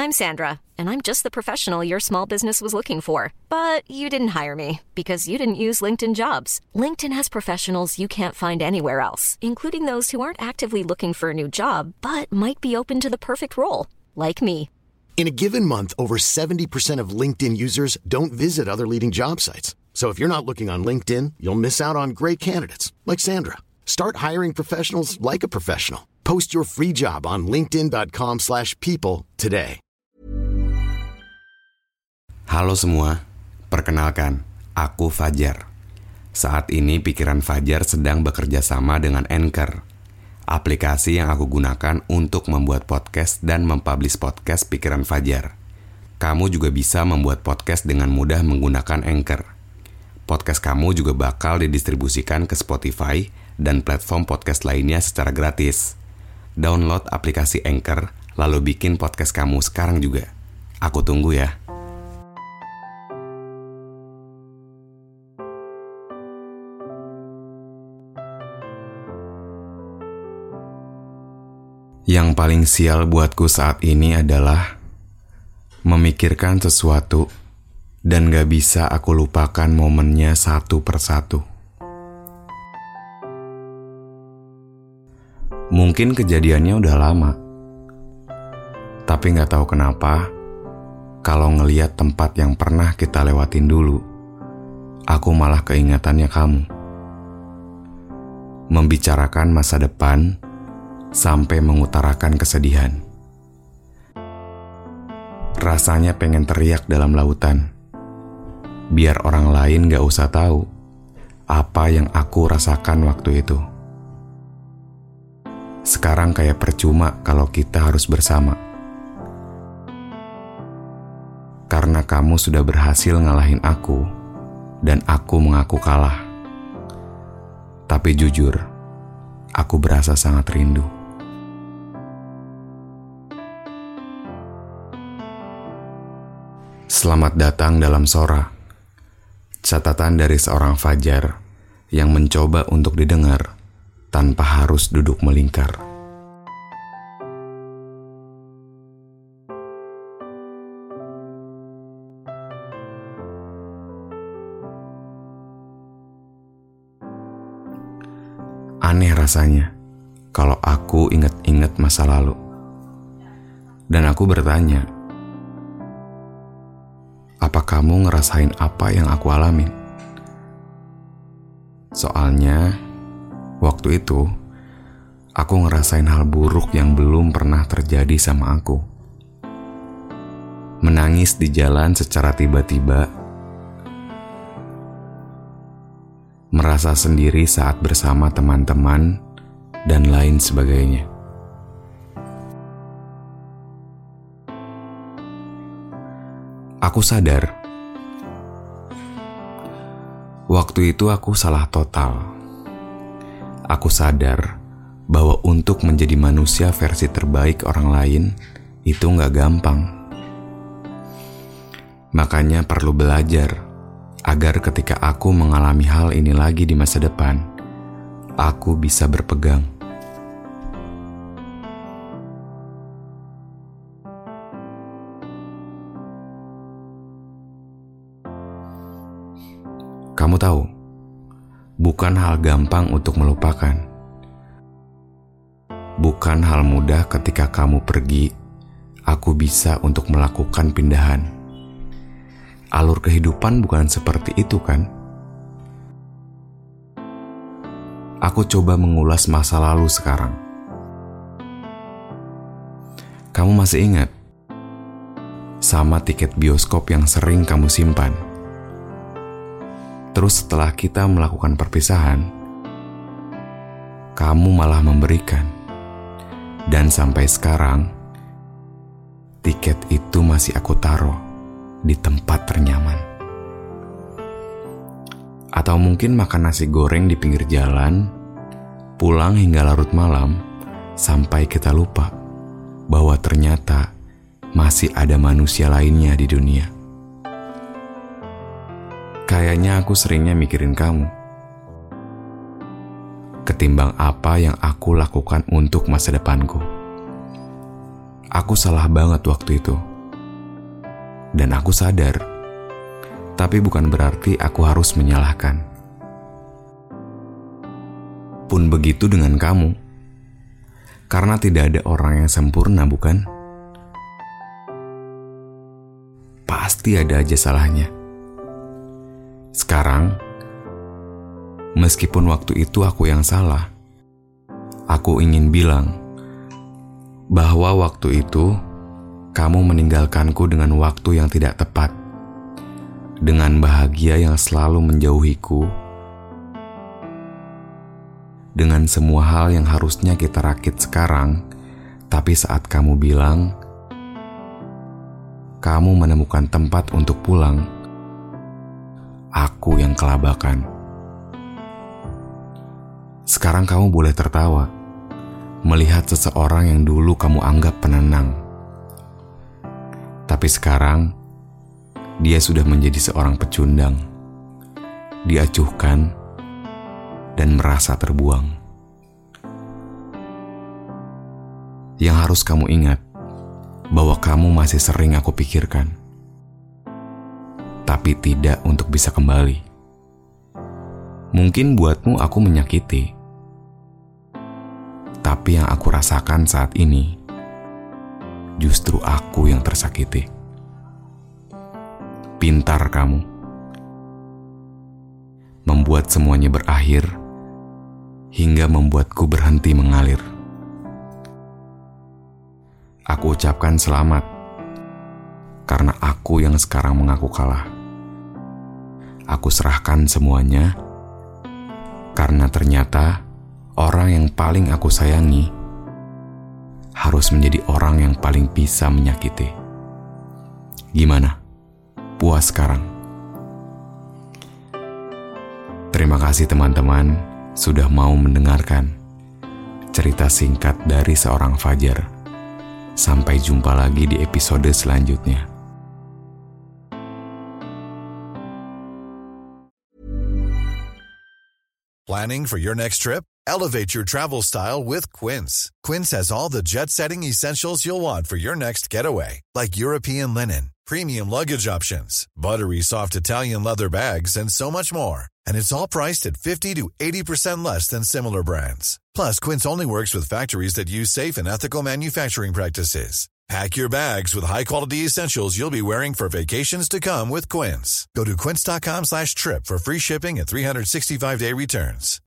I'm Sandra, and I'm just the professional your small business was looking for. But you didn't hire me because you didn't use LinkedIn Jobs. LinkedIn has professionals you can't find anywhere else, including those who aren't actively looking for a new job, but might be open to the perfect role, like me. In a given month, over 70% of LinkedIn users don't visit other leading job sites. So if you're not looking on LinkedIn, you'll miss out on great candidates like Sandra. Start hiring professionals like a professional. Post your free job on linkedin.com/people today. Halo semua, perkenalkan, aku Fajar. Saat ini pikiran Fajar sedang bekerja sama dengan Anchor, aplikasi yang aku gunakan untuk membuat podcast dan mempublish podcast pikiran Fajar. Kamu juga bisa membuat podcast dengan mudah menggunakan Anchor. Podcast kamu juga bakal didistribusikan ke Spotify dan platform podcast lainnya secara gratis. Download aplikasi Anchor, lalu bikin podcast kamu sekarang juga. Aku tunggu ya. Yang paling sial buatku saat ini adalah memikirkan sesuatu dan gak bisa aku lupakan momennya satu persatu. Mungkin kejadiannya udah lama, tapi gak tahu kenapa, kalau ngeliat tempat yang pernah kita lewatin dulu, aku malah keingatannya kamu. Membicarakan masa depan sampai mengutarakan kesedihan. Rasanya pengen teriak dalam lautan, biar orang lain gak usah tahu apa yang aku rasakan waktu itu. Sekarang kayak percuma kalau kita harus bersama, karena kamu sudah berhasil ngalahin aku dan aku mengaku kalah. Tapi jujur, aku berasa sangat rindu. Selamat datang dalam Sora, catatan dari seorang Fajar yang mencoba untuk didengar tanpa harus duduk melingkar. Aneh rasanya kalau aku ingat-ingat masa lalu. Dan aku bertanya, apa kamu ngerasain apa yang aku alamin? Soalnya, waktu itu, aku ngerasain hal buruk yang belum pernah terjadi sama aku. Menangis di jalan secara tiba-tiba, merasa sendiri saat bersama teman-teman, dan lain sebagainya. Aku sadar, waktu itu aku salah total. Aku sadar bahwa untuk menjadi manusia versi terbaik orang lain itu gak gampang. Makanya perlu belajar agar ketika aku mengalami hal ini lagi di masa depan, aku bisa berpegang. Kamu tahu, bukan hal gampang untuk melupakan. Bukan hal mudah ketika kamu pergi, aku bisa untuk melakukan pindahan. Alur kehidupan bukan seperti itu kan? Aku coba mengulas masa lalu sekarang. Kamu masih ingat? Sama tiket bioskop yang sering kamu simpan. Terus setelah kita melakukan perpisahan, kamu malah memberikan. Dan sampai sekarang, tiket itu masih aku taruh di tempat ternyaman. Atau mungkin makan nasi goreng di pinggir jalan, pulang hingga larut malam, sampai kita lupa bahwa ternyata masih ada manusia lainnya di dunia. Kayaknya aku seringnya mikirin kamu ketimbang apa yang aku lakukan untuk masa depanku. Aku salah banget waktu itu. Dan aku sadar, tapi bukan berarti aku harus menyalahkan. Pun begitu dengan kamu. Karena tidak ada orang yang sempurna, bukan? Pasti ada aja salahnya. Sekarang, meskipun waktu itu aku yang salah, aku ingin bilang bahwa waktu itu kamu meninggalkanku dengan waktu yang tidak tepat, dengan bahagia yang selalu menjauhiku, dengan semua hal yang harusnya kita rakit sekarang, tapi saat kamu bilang kamu menemukan tempat untuk pulang, aku yang kelabakan. Sekarang kamu boleh tertawa melihat seseorang yang dulu kamu anggap penenang. Tapi sekarang, dia sudah menjadi seorang pecundang, diacuhkan, dan merasa terbuang. Yang harus kamu ingat, bahwa kamu masih sering aku pikirkan, tapi tidak untuk bisa kembali. Mungkin buatmu aku menyakiti, tapi yang aku rasakan saat ini, justru aku yang tersakiti. Pintar kamu. Membuat semuanya berakhir, hingga membuatku berhenti mengalir. Aku ucapkan selamat, karena aku yang sekarang mengaku kalah. Aku serahkan semuanya, karena ternyata orang yang paling aku sayangi harus menjadi orang yang paling bisa menyakiti. Gimana? Puas sekarang? Terima kasih teman-teman sudah mau mendengarkan cerita singkat dari seorang Fajar. Sampai jumpa lagi di episode selanjutnya. Planning for your next trip? Elevate your travel style with Quince. Quince has all the jet-setting essentials you'll want for your next getaway, like European linen, premium luggage options, buttery soft Italian leather bags, and so much more. And it's all priced at 50 to 80% less than similar brands. Plus, Quince only works with factories that use safe and ethical manufacturing practices. Pack your bags with high-quality essentials you'll be wearing for vacations to come with Quince. Go to quince.com/trip for free shipping and 365-day returns.